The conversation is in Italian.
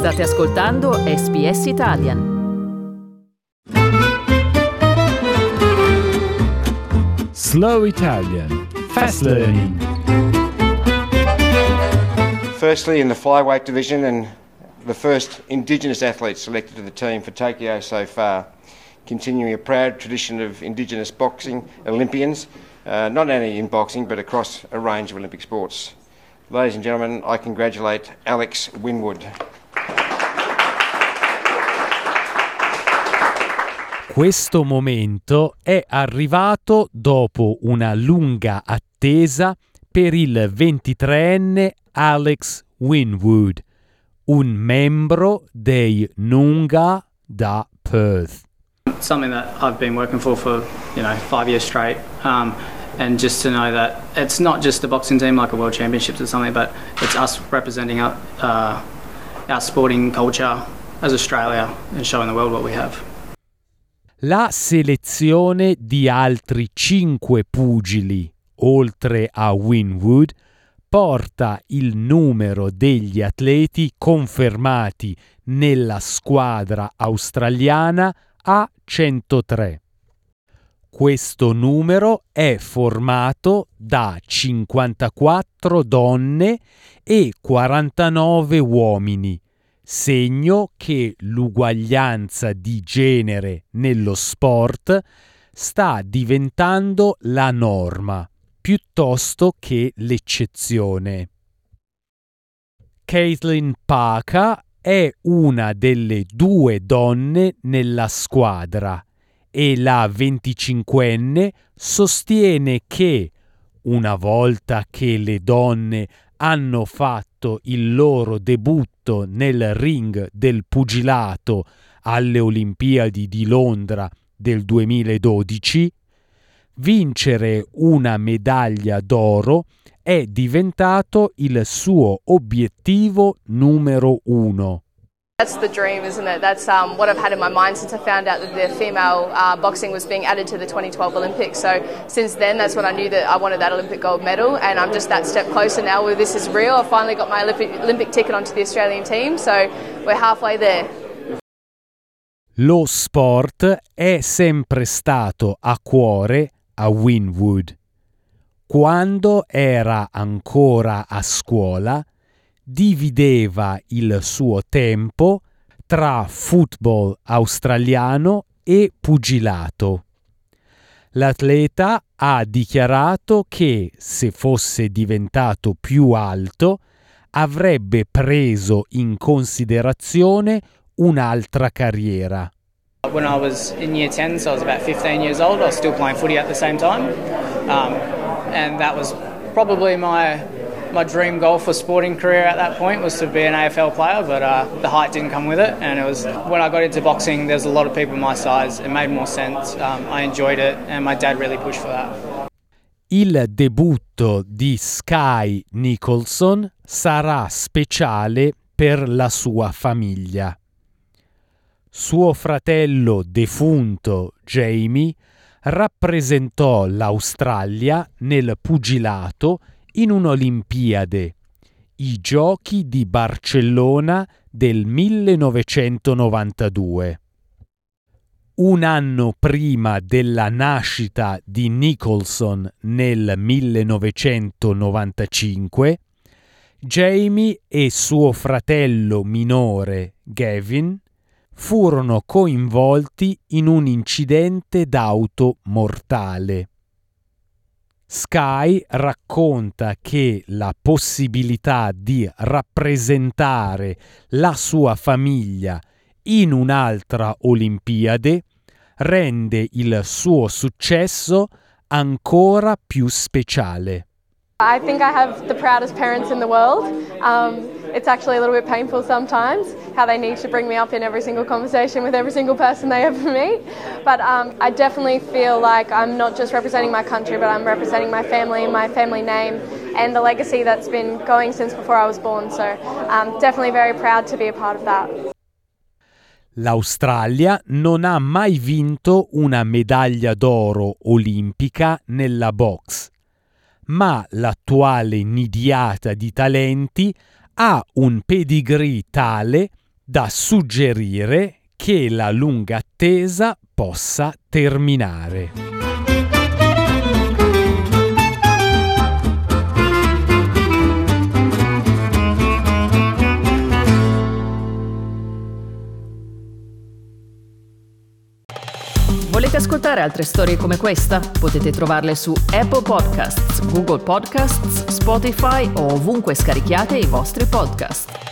State ascoltando SBS Italian. Slow Italian. Fast learning. Firstly, in the flyweight division, and the first Indigenous athlete selected to the team for Tokyo so far, continuing a proud tradition of Indigenous boxing Olympians, not only in boxing but across a range of Olympic sports. Ladies and gentlemen, I congratulate Alex Winwood. Questo momento è arrivato dopo una lunga attesa per il 23enne Alex Winwood, un membro dei Noongar da Perth. Something that I've been working for 5 years straight, and just to know that it's not just a boxing team like a World Championships or something, but it's us representing our sporting culture as Australia and showing the world what we have. La selezione di altri 5 pugili, oltre a Winwood, porta il numero degli atleti confermati nella squadra australiana a 103. Questo numero è formato da 54 donne e 49 uomini, segno che l'uguaglianza di genere nello sport sta diventando la norma piuttosto che l'eccezione. Caitlin Parker è una delle 2 donne nella squadra e la 25enne sostiene che, una volta che le donne hanno fatto il loro debutto nel ring del pugilato alle Olimpiadi di Londra del 2012, vincere una medaglia d'oro è diventato il suo obiettivo numero 1. That's the dream, isn't it? That's what I've had in my mind since I found out that the female boxing was being added to the 2012 Olympics. So since then, that's when I knew that I wanted that Olympic gold medal, and I'm just that step closer now where this is real. I finally got my Olympic ticket onto the Australian team, so we're halfway there. Lo sport è sempre stato a cuore a Winwood. Quando era ancora a scuola, divideva il suo tempo tra football australiano e pugilato. L'atleta ha dichiarato che, se fosse diventato più alto, avrebbe preso in considerazione un'altra carriera. When I was in year 10, so I was about 15 years old, I was still playing footy at the same time, and that was probably my dream goal for sporting career at that point, was to be an AFL player, but the height didn't come with it, and it was when I got into boxing, there's a lot of people my size. It made more sense. I enjoyed it, and my dad really pushed for that. Il debutto di Sky Nicholson sarà speciale per la sua famiglia. Suo fratello defunto Jamie rappresentò l'Australia nel pugilato in un'Olimpiade, i Giochi di Barcellona del 1992. Un anno prima della nascita di Nicholson nel 1995, Jamie e suo fratello minore Gavin furono coinvolti in un incidente d'auto mortale. Sky racconta che la possibilità di rappresentare la sua famiglia in un'altra Olimpiade rende il suo successo ancora più speciale. I think I have the proudest parents in the world. It's actually a little bit painful sometimes how they need to bring me up in every single conversation with every single person they ever meet. But I definitely feel like I'm not just representing my country, but I'm representing my family name, and the legacy that's been going since before I was born. So I'm definitely very proud to be a part of that. L'Australia non ha mai vinto una medaglia d'oro olimpica nella box, ma l'attuale nidiata di talenti ha un pedigree tale da suggerire che la lunga attesa possa terminare. Volete ascoltare altre storie come questa? Potete trovarle su Apple Podcasts, Google Podcasts, Spotify o ovunque scarichiate i vostri podcast.